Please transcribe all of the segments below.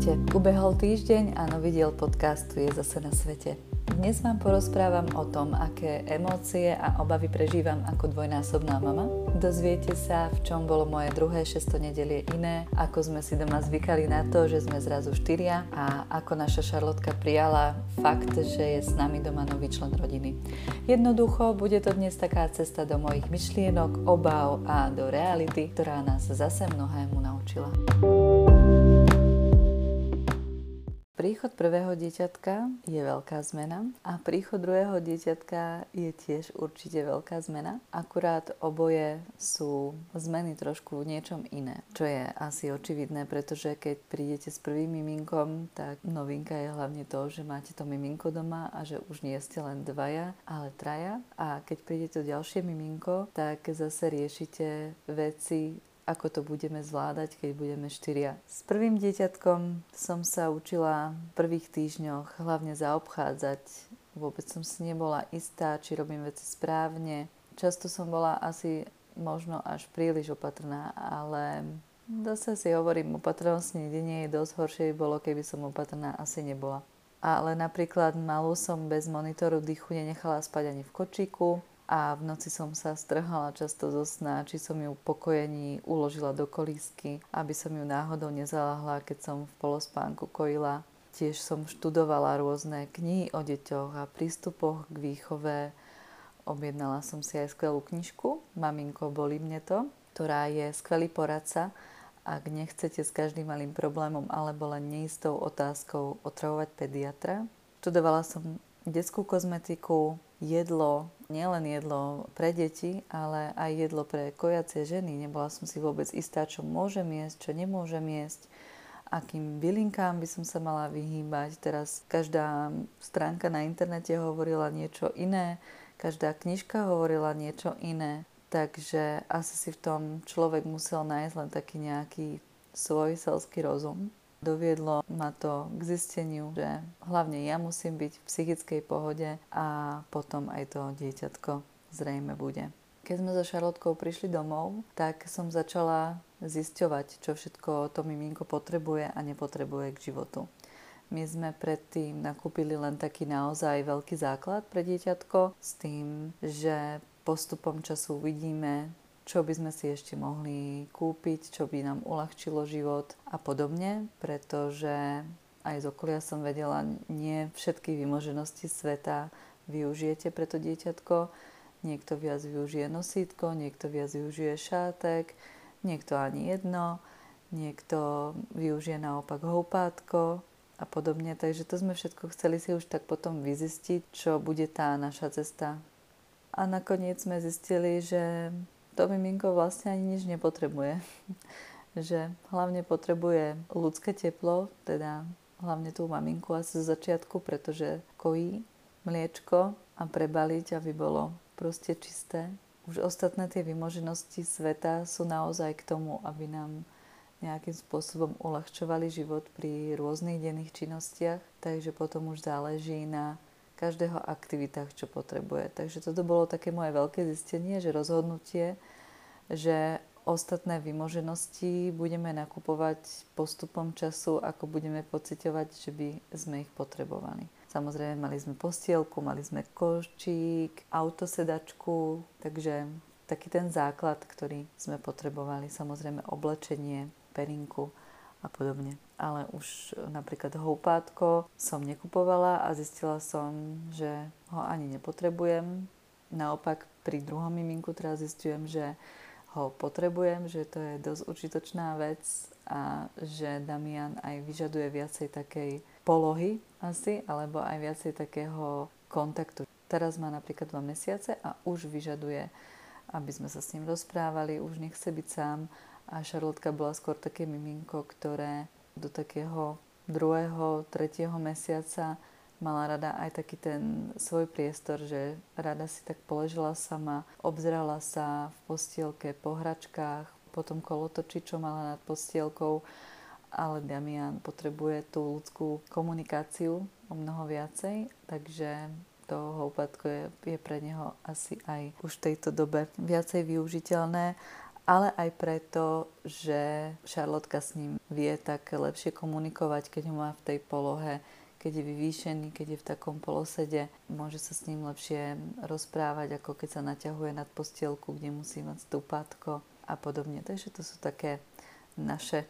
Ahojte, ubehol týždeň a nový diel podcastu je zase na svete. Dnes vám porozprávam o tom, aké emócie a obavy prežívam ako dvojnásobná mama. Dozviete sa, v čom bolo moje druhé 6. nedelie iné, ako sme si doma zvykali na to, že sme zrazu 4 a ako naša Šarlotka prijala fakt, že je s nami doma nový člen rodiny. Jednoducho, bude to dnes taká cesta do mojich myšlienok, obáv a do reality, ktorá nás zase mnohému naučila. Príchod prvého dieťatka je veľká zmena a príchod druhého dieťatka je tiež určite veľká zmena. Akurát oboje sú zmeny trošku v niečom iné, čo je asi očividné, pretože keď prídete s prvým miminkom, tak novinka je hlavne to, že máte to miminko doma a že už nie ste len dvaja, ale traja. A keď príde to ďalšie miminko, tak zase riešite veci, ako to budeme zvládať, keď budeme 4. S prvým dieťatkom som sa učila v prvých týždňoch hlavne zaobchádzať. Vôbec som si nebola istá, či robím veci správne. Často som bola asi možno až príliš opatrná, ale zase si hovorím, opatrnosť nikdy nie je dosť, horšie by bolo, keby som opatrná asi nebola. Ale napríklad malú som bez monitoru dýchu nenechala spať ani v kočíku. A v noci som sa strhala často zo sna, či som ju v pokojení uložila do kolísky, aby som ju náhodou nezaľahla, keď som v polospánku kojila. Tiež som študovala rôzne knihy o deťoch a prístupoch k výchove. Objednala som si aj skvelú knižku Maminko, bolí mne to, ktorá je skvelý poradca, ak nechcete s každým malým problémom alebo len neistou otázkou otravovať pediatra. Študovala som detskú kozmetiku, jedlo, nielen jedlo pre deti, ale aj jedlo pre kojacie ženy. Nebola som si vôbec istá, čo môžem jesť, čo nemôžem jesť, akým bylinkám by som sa mala vyhýbať. Teraz každá stránka na internete hovorila niečo iné, každá knižka hovorila niečo iné, takže asi si v tom človek musel nájsť len taký nejaký svoj selský rozum. Doviedlo ma to k zisteniu, že hlavne ja musím byť v psychickej pohode a potom aj to dieťatko zrejme bude. Keď sme so Šarlotkou prišli domov, tak som začala zisťovať, čo všetko to miminko potrebuje a nepotrebuje k životu. My sme predtým nakúpili len taký naozaj veľký základ pre dieťatko s tým, že postupom času uvidíme, čo by sme si ešte mohli kúpiť, čo by nám uľahčilo život a podobne, pretože aj z okolia som vedela, nie všetky vymoženosti sveta využijete pre to dieťatko. Niekto viac využije nosítko, niekto viac využije šátek, niekto ani jedno, niekto využije naopak houpátko a podobne. Takže to sme všetko chceli si už tak potom vyzistiť, čo bude tá naša cesta. A nakoniec sme zistili, že to miminko vlastne ani nič nepotrebuje. Že hlavne potrebuje ľudské teplo, teda hlavne tú maminku asi z začiatku, pretože kojí mliečko a prebaliť, aby bolo proste čisté. Už ostatné tie vymoženosti sveta sú naozaj k tomu, aby nám nejakým spôsobom uľahčovali život pri rôznych denných činnostiach, takže potom už záleží na každého aktivitách, čo potrebuje. Takže toto bolo také moje veľké zistenie, že rozhodnutie, že ostatné vymoženosti budeme nakupovať postupom času, ako budeme pociťovať, že by sme ich potrebovali. Samozrejme, mali sme postielku, mali sme košík, autosedačku, takže taký ten základ, ktorý sme potrebovali. Samozrejme oblečenie, perinku a podobne. Ale už napríklad houpátko som nekupovala a zistila som, že ho ani nepotrebujem. Naopak pri druhom miminku teraz zistujem, že ho potrebujem, že to je dosť užitočná vec a že Damian aj vyžaduje viacej takej polohy asi, alebo aj viacej takého kontaktu. Teraz má napríklad 2 mesiace a už vyžaduje, aby sme sa s ním rozprávali, už nechce byť sám a Šarlotka bola skôr také miminko, ktoré do takého 2., 3. mesiaca mala rada aj taký ten svoj priestor, že rada si tak položila sama, obzerala sa v postielke po hračkách, potom kolotoči, čo mala nad postielkou, ale Damian potrebuje tú ľudskú komunikáciu o mnoho viacej, takže to houpátko je pre neho asi aj už v tejto dobe viacej využiteľné ale aj preto, že Šarlotka s ním vie tak lepšie komunikovať, keď ho má v tej polohe, keď je vyvýšený, keď je v takom polosede. Môže sa s ním lepšie rozprávať, ako keď sa naťahuje nad postielku, kde musí mať stúpatko a podobne. Takže to sú také naše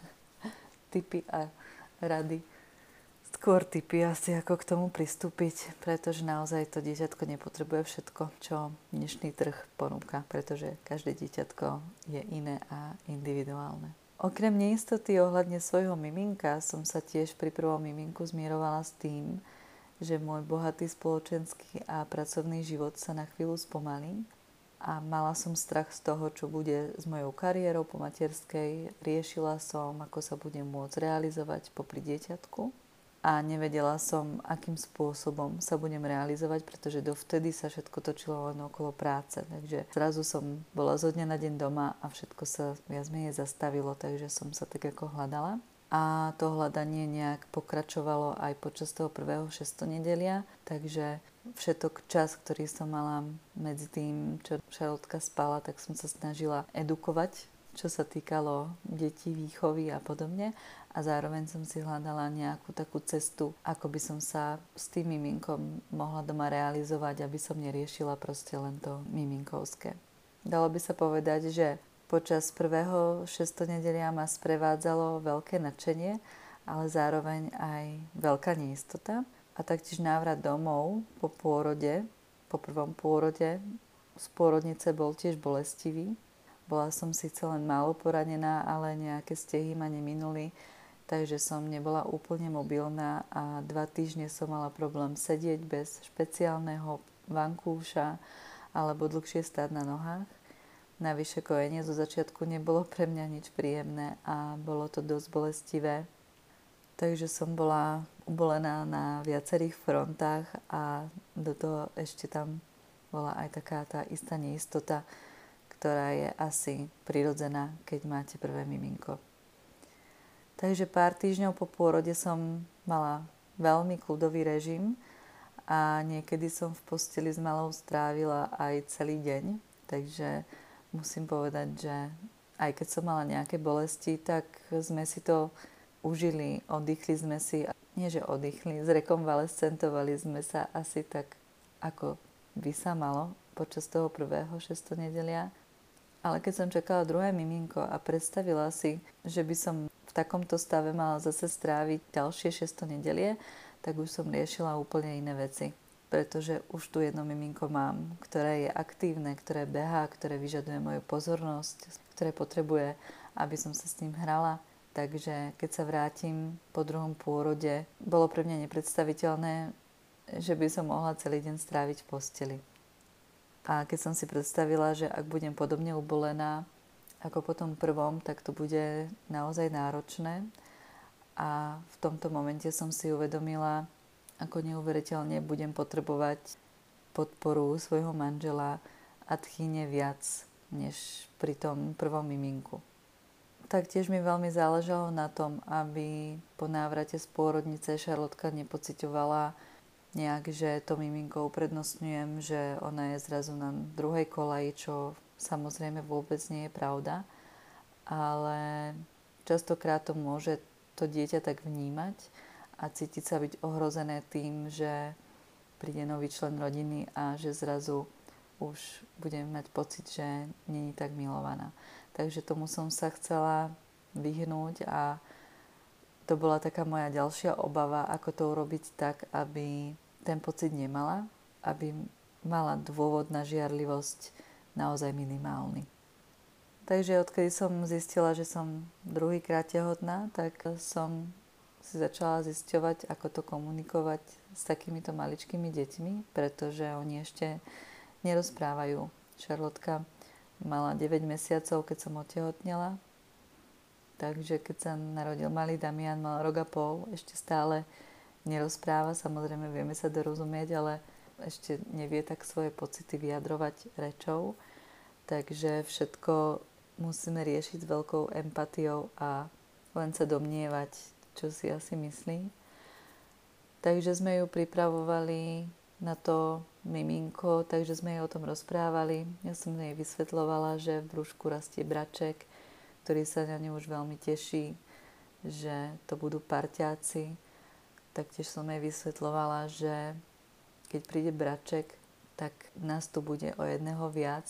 tipy a rady. Skôr tipy asi, ako k tomu pristúpiť, pretože naozaj to dieťatko nepotrebuje všetko, čo dnešný trh ponúka, pretože každé dieťatko je iné a individuálne. Okrem neistoty ohľadne svojho miminka som sa tiež pri prvom miminku zmierovala s tým, že môj bohatý spoločenský a pracovný život sa na chvíľu spomalí a mala som strach z toho, čo bude s mojou kariérou po materskej. Riešila som, ako sa budem môcť realizovať popri dieťatku. A nevedela som, akým spôsobom sa budem realizovať, pretože dovtedy sa všetko točilo len okolo práce. Takže zrazu som bola zo dňa na deň doma a všetko sa viac menej zastavilo, takže som sa tak ako hľadala. A to hľadanie nejak pokračovalo aj počas toho prvého šestonedelia, takže všetok čas, ktorý som mala medzi tým, čo Šarlotka spala, tak som sa snažila edukovať, čo sa týkalo detí, výchovy a podobne. A zároveň som si hľadala nejakú takú cestu, ako by som sa s tým miminkom mohla doma realizovať, aby som neriešila proste len to miminkovské. Dalo by sa povedať, že počas prvého šestonedelia ma sprevádzalo veľké nadšenie, ale zároveň aj veľká neistota. A taktiež návrat domov po pôrode, po prvom pôrode z pôrodnice bol tiež bolestivý. Bola som síce len málo poranená, ale nejaké stehy ma neminuli, takže som nebola úplne mobilná a 2 týždne som mala problém sedieť bez špeciálneho vankúša alebo dlhšie stáť na nohách. Navyše kojenie zo začiatku nebolo pre mňa nič príjemné a bolo to dosť bolestivé. Takže som bola ubolená na viacerých frontách a do toho ešte tam bola aj taká tá istá neistota, ktorá je asi prirodzená, keď máte prvé miminko. Takže pár týždňov po pôrode som mala veľmi kľudový režim a niekedy som v posteli s malou strávila aj celý deň. Takže musím povedať, že aj keď som mala nejaké bolesti, tak sme si to užili, oddychli sme si, nie že oddychli, zrekonvalescentovali sme sa asi tak, ako by sa malo počas toho prvého šestonedelia. Ale keď som čakala druhé miminko a predstavila si, že by som v takomto stave mala zase stráviť ďalšie šestonedelie, tak už som riešila úplne iné veci. Pretože už tu jedno miminko mám, ktoré je aktívne, ktoré behá, ktoré vyžaduje moju pozornosť, ktoré potrebuje, aby som sa s ním hrala. Takže keď sa vrátim po druhom pôrode, bolo pre mňa nepredstaviteľné, že by som mohla celý deň stráviť v posteli. A keď som si predstavila, že ak budem podobne ubolená ako po tom prvom, tak to bude naozaj náročné. A v tomto momente som si uvedomila, ako neuveriteľne budem potrebovať podporu svojho manžela a tchýne viac, než pri tom prvom miminku. Taktiež mi veľmi záležalo na tom, aby po návrate z pôrodnice Šarlotka nepociťovala nejak, že to miminko uprednostňujem, že ona je zrazu na druhej kolaji, čo samozrejme vôbec nie je pravda. Ale častokrát to môže to dieťa tak vnímať a cítiť sa byť ohrozené tým, že príde nový člen rodiny a že zrazu už budem mať pocit, že nie je tak milovaná. Takže tomu som sa chcela vyhnúť a to bola taká moja ďalšia obava, ako to urobiť tak, aby ten pocit nemala, aby mala dôvod na žiarlivosť naozaj minimálny. Takže odkedy som zistila, že som druhýkrát tehotná, tak som si začala zisťovať, ako to komunikovať s takýmito maličkými deťmi, pretože oni ešte nerozprávajú. Šarlotka mala 9 mesiacov, keď som otehotnela, takže keď sa narodil malý Damian, mal rok a pol, ešte stále nerozpráva, samozrejme vieme sa dorozumieť, ale ešte nevie tak svoje pocity vyjadrovať rečou, takže všetko musíme riešiť s veľkou empatiou a len sa domnievať, čo si asi myslí. Takže sme ju pripravovali na to, miminko, takže sme jej o tom rozprávali. Ja som jej vysvetľovala, že v brúšku rastie braček, ktorý sa na ňu už veľmi teší, že to budú parťáci. Taktiež som jej vysvetľovala, že keď príde braček, tak nás tu bude o jedného viac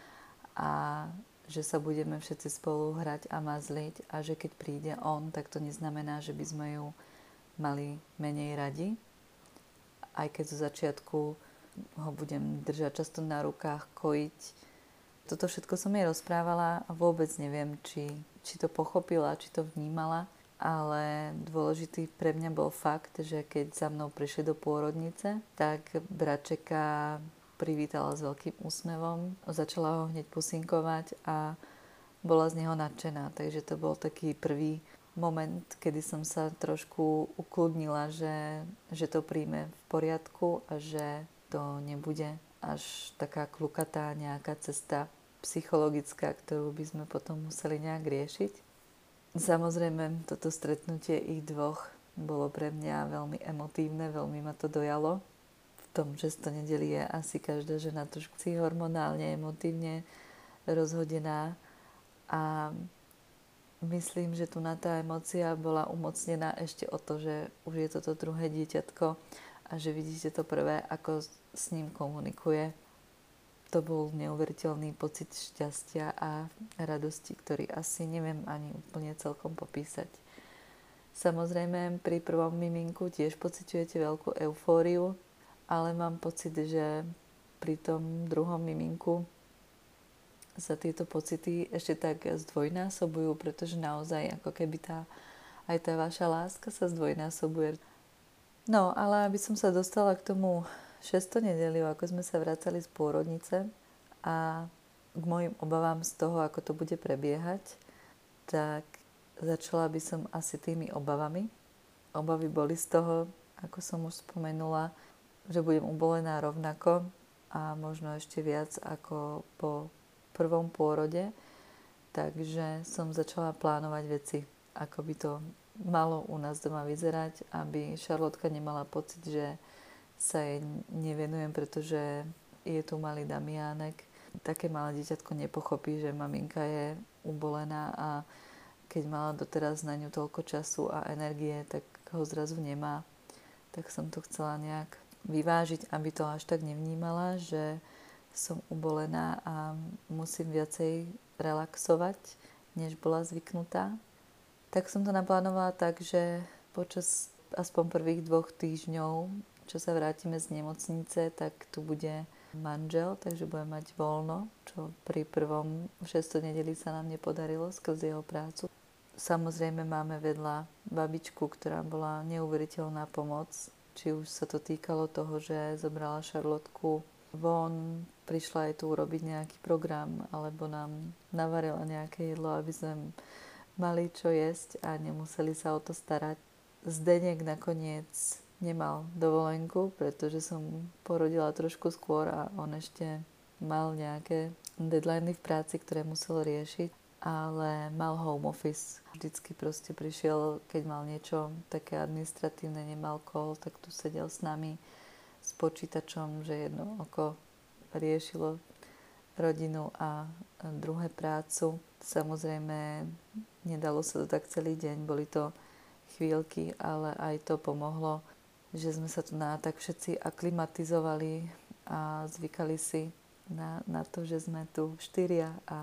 a že sa budeme všetci spolu hrať a mazliť a že keď príde on, tak to neznamená, že by sme ju mali menej radi. Aj keď zo začiatku ho budem držať často na rukách, kojiť. Toto všetko som jej rozprávala a vôbec neviem, či to pochopila, či to vnímala, ale dôležitý pre mňa bol fakt, že keď za mnou prišli do pôrodnice, tak bračeka privítala s veľkým úsmevom, začala ho hneď pusinkovať a bola z neho nadšená, takže to bol taký prvý moment, kedy som sa trošku ukludnila, že to príjme v poriadku a že to nebude až taká klukatá nejaká cesta psychologická, ktorú by sme potom museli nejak riešiť. Samozrejme, toto stretnutie ich dvoch bolo pre mňa veľmi emotívne, veľmi ma to dojalo. V tom, že to nedeli je asi každá žena trošku hormonálne, emotívne rozhodená a myslím, že tu na tá emócia bola umocnená ešte o to, že už je toto druhé dieťatko a že vidíte to prvé, ako s ním komunikuje. To bol neuveriteľný pocit šťastia a radosti, ktorý asi neviem ani úplne celkom popísať. Samozrejme, pri prvom miminku tiež pociťujete veľkú eufóriu, ale mám pocit, že pri tom druhom miminku sa tieto pocity ešte tak zdvojnásobujú, pretože naozaj ako keby aj tá vaša láska sa zdvojnásobuje. No, ale aby som sa dostala k tomu 6. nedeliu, ako sme sa vracali z pôrodnice a k mojim obavám z toho, ako to bude prebiehať, tak začala by som asi tými obavami. Obavy boli z toho, ako som už spomenula, že budem ubolená rovnako a možno ešte viac ako po prvom pôrode, takže som začala plánovať veci, ako by to malo u nás doma vyzerať, aby Šarlotka nemala pocit, že sa jej nevenujem, pretože je tu malý Damiánek. Také malé dieťatko nepochopí, že maminka je ubolená a keď mala doteraz na ňu toľko času a energie, tak ho zrazu nemá. Tak som to chcela nejak vyvážiť, aby to až tak nevnímala, že som ubolená a musím viacej relaxovať, než bola zvyknutá. Tak som to naplánovala tak, že počas aspoň prvých 2 týždňov, čo sa vrátime z nemocnice, tak tu bude manžel, takže budem mať voľno, čo pri prvom 6. nedeli sa nám nepodarilo skrz jeho prácu. Samozrejme máme vedľa babičku, ktorá bola neuveriteľná pomoc, či už sa to týkalo toho, že zobrala Šarlotku von, prišla aj tu urobiť nejaký program, alebo nám navarila nejaké jedlo, aby sme mali čo jesť a nemuseli sa o to starať. Zdeněk nakoniec nemal dovolenku, pretože som porodila trošku skôr a on ešte mal nejaké deadliny v práci, ktoré musel riešiť, ale mal home office. Vždycky proste prišiel, keď mal niečo také administratívne, nemal call, tak tu sedel s nami s počítačom, že jedno oko riešilo rodinu a druhé prácu. Samozrejme, nedalo sa to tak celý deň, boli to chvíľky, ale aj to pomohlo, že sme sa tu tak všetci aklimatizovali a zvykali si na to, že sme tu 4 a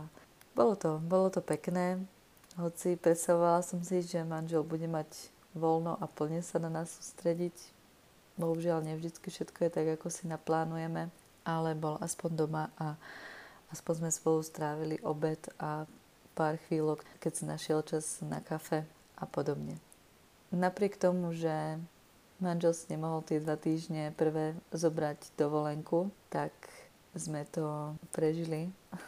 bolo to pekné, hoci predstavovala som si, že manžel bude mať voľno a plne sa na nás sústrediť. Bohužiaľ, nevždycky všetko je tak, ako si naplánujeme, ale bol aspoň doma a aspoň sme spolu strávili obed a pár chvíľok, keď si našiel čas na kafe a podobne. Napriek tomu, že manžel si nemohol tie 2 týždne prvé zobrať dovolenku, tak sme to prežili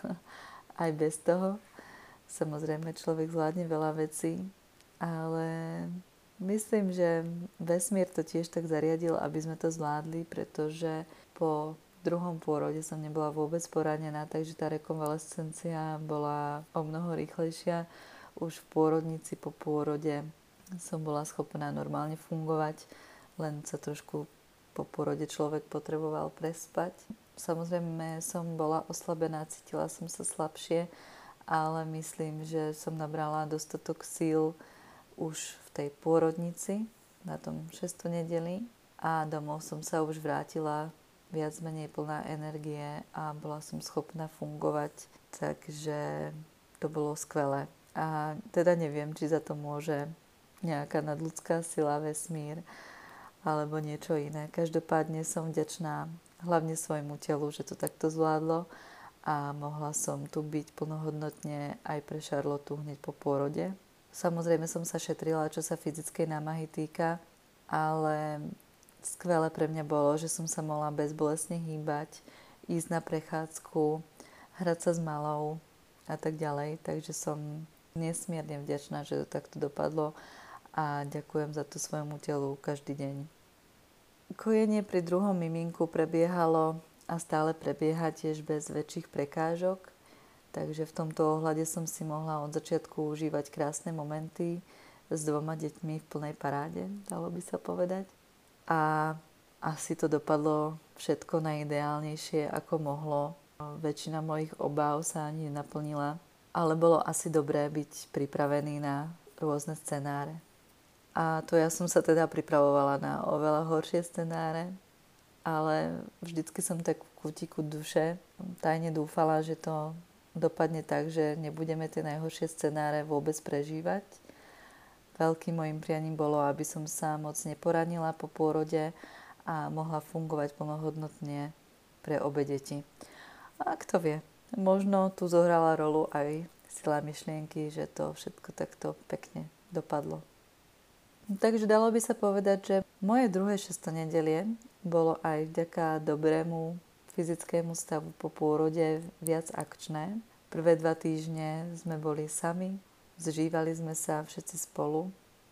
aj bez toho. Samozrejme, človek zvládne veľa vecí, ale myslím, že vesmír to tiež tak zariadil, aby sme to zvládli, pretože po druhom pôrode som nebola vôbec poranená, takže tá rekonvalescencia bola o mnoho rýchlejšia. Už v pôrodnici po pôrode som bola schopná normálne fungovať, len sa trošku Po porode človek potreboval prespať. Samozrejme som bola oslabená, cítila som sa slabšie, ale myslím, že som nabrala dostatok síl už v tej pôrodnici na tom 6. nedeli a domov som sa už vrátila viac menej plná energie a bola som schopná fungovať, takže to bolo skvelé. A teda neviem, či za to môže nejaká nadľudská sila, vesmír alebo niečo iné. Každopádne som vďačná hlavne svojmu telu, že to takto zvládlo a mohla som tu byť plnohodnotne aj pre Charlotu hneď po pôrode. Samozrejme som sa šetrila, čo sa fyzickej námahy týka, ale skvelé pre mňa bolo, že som sa mohla bezbolestne hýbať, ísť na prechádzku, hrať sa s malou a tak ďalej. Takže som nesmierne vďačná, že to takto dopadlo a ďakujem za to svojmu telu každý deň. Kojenie pri druhom miminku prebiehalo a stále prebieha tiež bez väčších prekážok, takže v tomto ohľade som si mohla od začiatku užívať krásne momenty s 2 deťmi v plnej paráde, dalo by sa povedať. A asi to dopadlo všetko najideálnejšie, ako mohlo. Väčšina mojich obáv sa ani nenaplnila, ale bolo asi dobré byť pripravený na rôzne scenáre. A to ja som sa teda pripravovala na oveľa horšie scenáre, ale vždycky som tak v kútiku duše tajne dúfala, že to dopadne tak, že nebudeme tie najhoršie scenáre vôbec prežívať. Veľkým mojim prianím bolo, aby som sa moc neporanila po pôrode a mohla fungovať plnohodnotne pre obe deti. A kto vie, možno tu zohrala rolu aj sila myšlienky, že to všetko takto pekne dopadlo. Takže dalo by sa povedať, že moje druhé 6. nedelie bolo aj vďaka dobrému fyzickému stavu po pôrode viac akčné. Prvé 2 týždne sme boli sami, zžívali sme sa všetci spolu.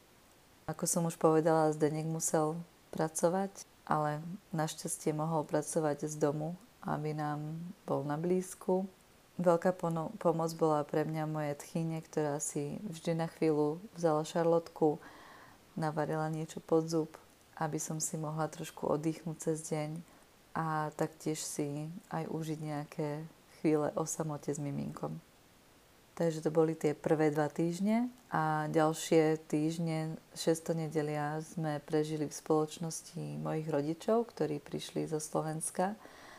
Ako som už povedala, Zdeněk musel pracovať, ale našťastie mohol pracovať z domu, aby nám bol na blízku. Veľká pomoc bola pre mňa moje tchyne, ktorá si vždy na chvíľu vzala Charlotku, navarila niečo pod zub, aby som si mohla trošku oddychnúť cez deň a taktiež si aj užiť nejaké chvíle o samote s miminkom. Takže to boli tie prvé 2 týždne a ďalšie týždne 6. nedelia sme prežili v spoločnosti mojich rodičov, ktorí prišli zo Slovenska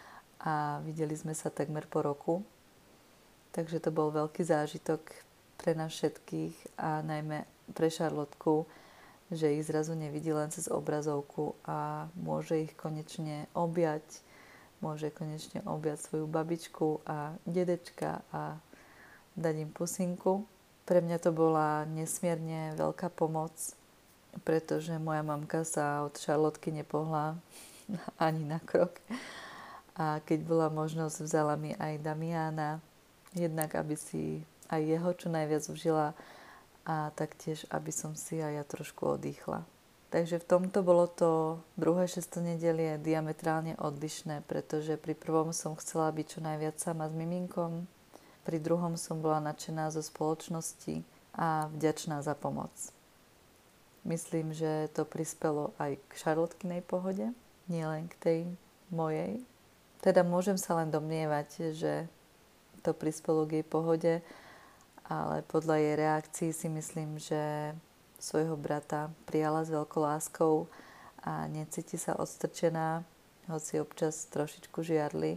a videli sme sa takmer po roku. Takže to bol veľký zážitok pre nás všetkých a najmä pre Charlotku, že ich zrazu nevidí len cez obrazovku a môže ich konečne objať, môže konečne objať svoju babičku a dedečka a dať im pusinku. Pre mňa to bola nesmierne veľká pomoc, pretože moja mamka sa od Charlotky nepohla ani na krok. A keď bola možnosť, vzala mi aj Damiana, jednak aby si aj jeho čo najviac užila a taktiež, aby som si aj ja trošku oddychla. Takže v tomto bolo to druhé 6. nedelie diametrálne odlišné, pretože pri prvom som chcela byť čo najviac sama s miminkom, pri druhom som bola nadšená zo spoločnosti a vďačná za pomoc. Myslím, že to prispelo aj k Charlotkinej pohode, nielen k tej mojej. Teda môžem sa len domnievať, že to prispelo k jej pohode, ale podľa jej reakcií si myslím, že svojho brata prijala s veľkou láskou a necíti sa odstrčená, hoci občas trošičku žiarli.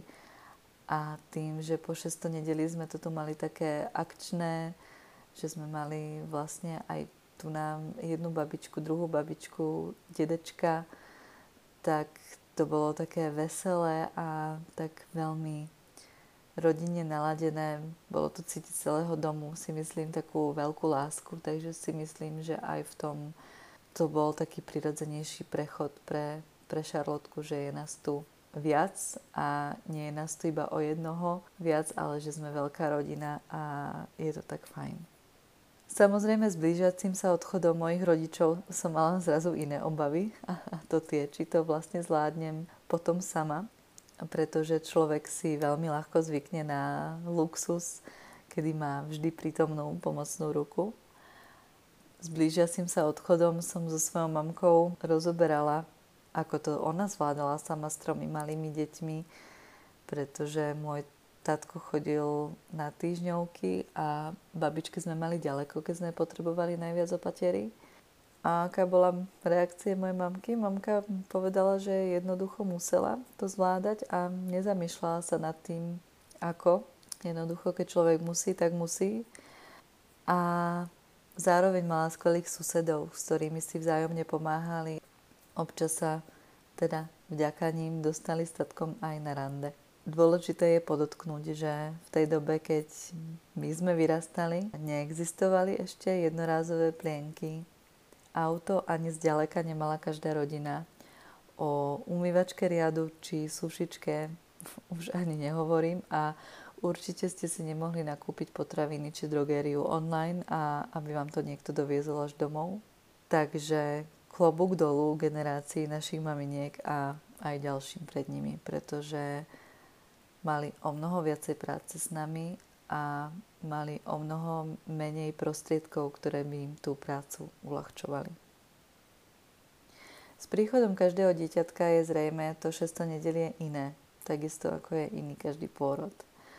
A tým, že po 6. nedeli sme to tu mali také akčné, že sme mali vlastne aj tu nám jednu babičku, druhú babičku, dedečka, tak to bolo také veselé a tak veľmi rodine naladené. Bolo to cítiť celého domu, si myslím, takú veľkú lásku, takže si myslím, že aj v tom to bol taký prirodzenejší prechod pre Charlotku, že je nás tu viac a nie je nás tu iba o jednoho viac, ale že sme veľká rodina a je to tak fajn. Samozrejme s blížiacim sa odchodom mojich rodičov som mala zrazu iné obavy a to tie, či to vlastne zvládnem potom sama, pretože človek si veľmi ľahko zvykne na luxus, kedy má vždy prítomnú pomocnú ruku. S blížiacim sa odchodom som so svojou mamkou rozoberala, ako to ona zvládala sama s 3 malými deťmi, pretože môj tatko chodil na týždňovky a babičky sme mali ďaleko, keď sme potrebovali najviac opatiery. A aká bola reakcia mojej mamky? Mamka povedala, že jednoducho musela to zvládať a nezamýšľala sa nad tým, ako. Jednoducho, keď človek musí, tak musí. A zároveň mala skvelých susedov, s ktorými si vzájomne pomáhali. Občas sa teda vďaka ním dostali s tatkom aj na rande. Dôležité je podotknúť, že v tej dobe, keď my sme vyrastali, neexistovali ešte jednorázové plienky. Auto ani zďaleka nemala každá rodina. O umývačke riadu či sušičke už ani nehovorím a určite ste si nemohli nakúpiť potraviny či drogériu online a aby vám to niekto doviezol až domov. Takže klobúk dolu generácii našich maminiek a aj ďalším pred nimi, pretože mali o mnoho viacej práce s nami a mali o mnoho menej prostriedkov, ktoré by im tú prácu uľahčovali. S príchodom každého dieťatka je zrejme to 6. nedelie iné, takisto ako je iný každý pôrod.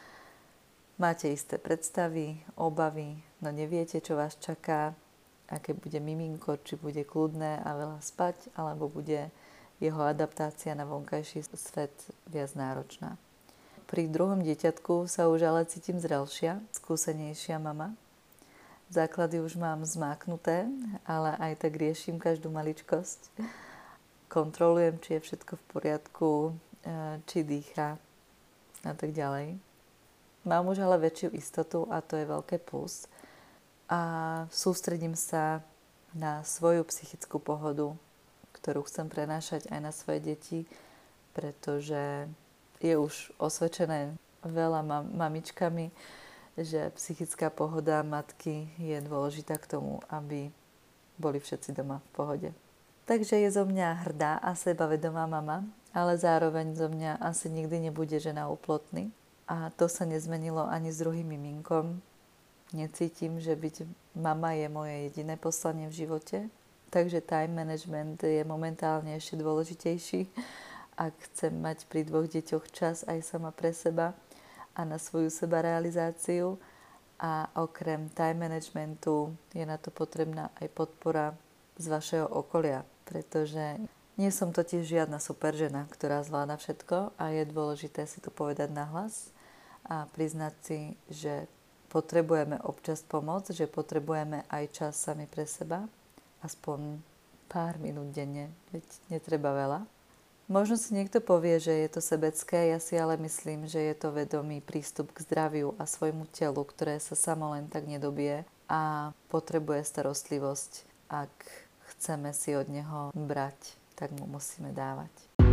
Máte isté predstavy, obavy, no neviete, čo vás čaká, aké bude miminko, či bude kľudné a veľa spať, alebo bude jeho adaptácia na vonkajší svet viac náročná. Pri druhom dieťatku sa už ale cítim zrelšia, skúsenejšia mama. Základy už mám zmáknuté, ale aj tak riešim každú maličkosť. Kontrolujem, či je všetko v poriadku, či dýcha a tak ďalej. Mám už ale väčšiu istotu a to je veľké plus. A sústredím sa na svoju psychickú pohodu, ktorú chcem prenášať aj na svoje deti, pretože je už osvedčené veľa mamičkami, že psychická pohoda matky je dôležitá k tomu, aby boli všetci doma v pohode. Takže je zo mňa hrdá a sebavedomá mama, ale zároveň zo mňa asi nikdy nebude žena úplotný. A to sa nezmenilo ani s druhým miminkom. Necítim, že byť mama je moje jediné poslanie v živote. Takže time management je momentálne ešte dôležitejší, ak chcem mať pri 2 deťoch čas aj sama pre seba a na svoju sebarealizáciu. A okrem time managementu je na to potrebná aj podpora z vašeho okolia, pretože nie som totiž žiadna super žena, ktorá zvláda všetko a je dôležité si to povedať nahlas a priznať si, že potrebujeme občas pomoc, že potrebujeme aj čas sami pre seba, aspoň pár minút denne, veď netreba veľa. Možno si niekto povie, že je to sebecké, ja si ale myslím, že je to vedomý prístup k zdraviu a svojmu telu, ktoré sa samo len tak nedobije a potrebuje starostlivosť. Ak chceme si od neho brať, tak mu musíme dávať.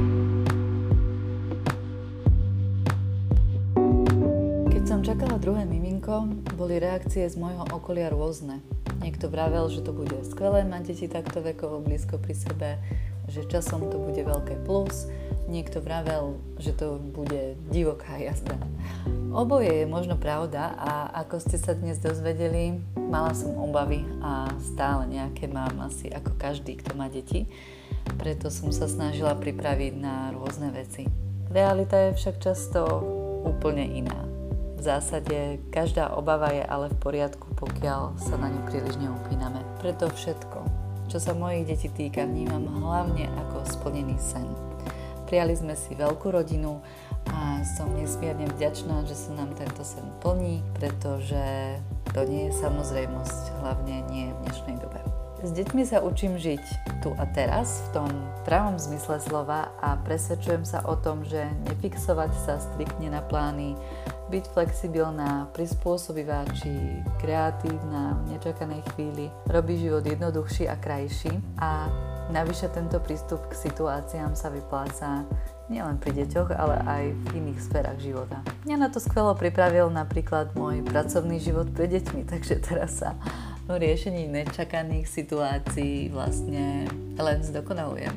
Keď som čakala druhé miminko, boli reakcie z môjho okolia rôzne. Niekto vravel, že to bude skvelé mať deti takto vekovo blízko pri sebe, že časom to bude veľké plus. Niekto vravel, že to bude divoká jazda. Oboje je možno pravda a ako ste sa dnes dozvedeli, mala som obavy a stále nejaké mám asi ako každý, kto má deti. Preto som sa snažila pripraviť na rôzne veci. Realita je však často úplne iná. V zásade každá obava je ale v poriadku, pokiaľ sa na ňu príliš neupíname. Preto všetko, čo sa mojich detí týka, vnímam hlavne ako splnený sen. Prijali sme si veľkú rodinu a som nesmierne vďačná, že sa nám tento sen plní, pretože to nie je samozrejmosť, hlavne nie v dnešnej dobe. S deťmi sa učím žiť tu a teraz, v tom pravom zmysle slova a presvedčujem sa o tom, že nefixovať sa striktne na plány, byť flexibilná, prispôsobivá či kreatívna v nečakanej chvíli robí život jednoduchší a krajší a navyše tento prístup k situáciám sa vypláca nielen pri deťoch, ale aj v iných sférach života. Mňa na to skvelo pripravil napríklad môj pracovný život pre deťmi, takže teraz sa v riešení nečakaných situácií vlastne len zdokonalujem.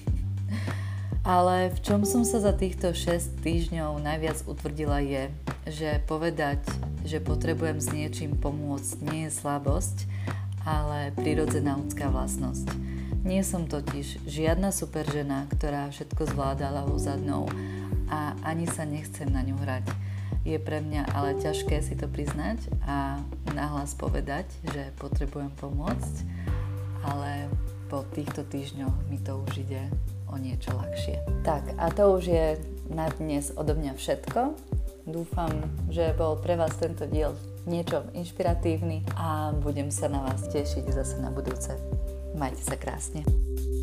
Ale v čom som sa za týchto 6 týždňov najviac utvrdila je, že povedať, že potrebujem s niečím pomôcť nie je slabosť, ale prirodzená ľudská vlastnosť. Nie som totiž žiadna super žena, ktorá všetko zvláda ľavou zadnou a ani sa nechcem na ňu hrať. Je pre mňa ale ťažké si to priznať a nahlas povedať, že potrebujem pomôcť, ale po týchto týždňoch mi to už ide o niečo ľahšie. Tak a to už je na dnes odo mňa všetko. Dúfam, že bol pre vás tento diel niečo inšpiratívny a budem sa na vás tešiť zase na budúce. Majte sa krásne.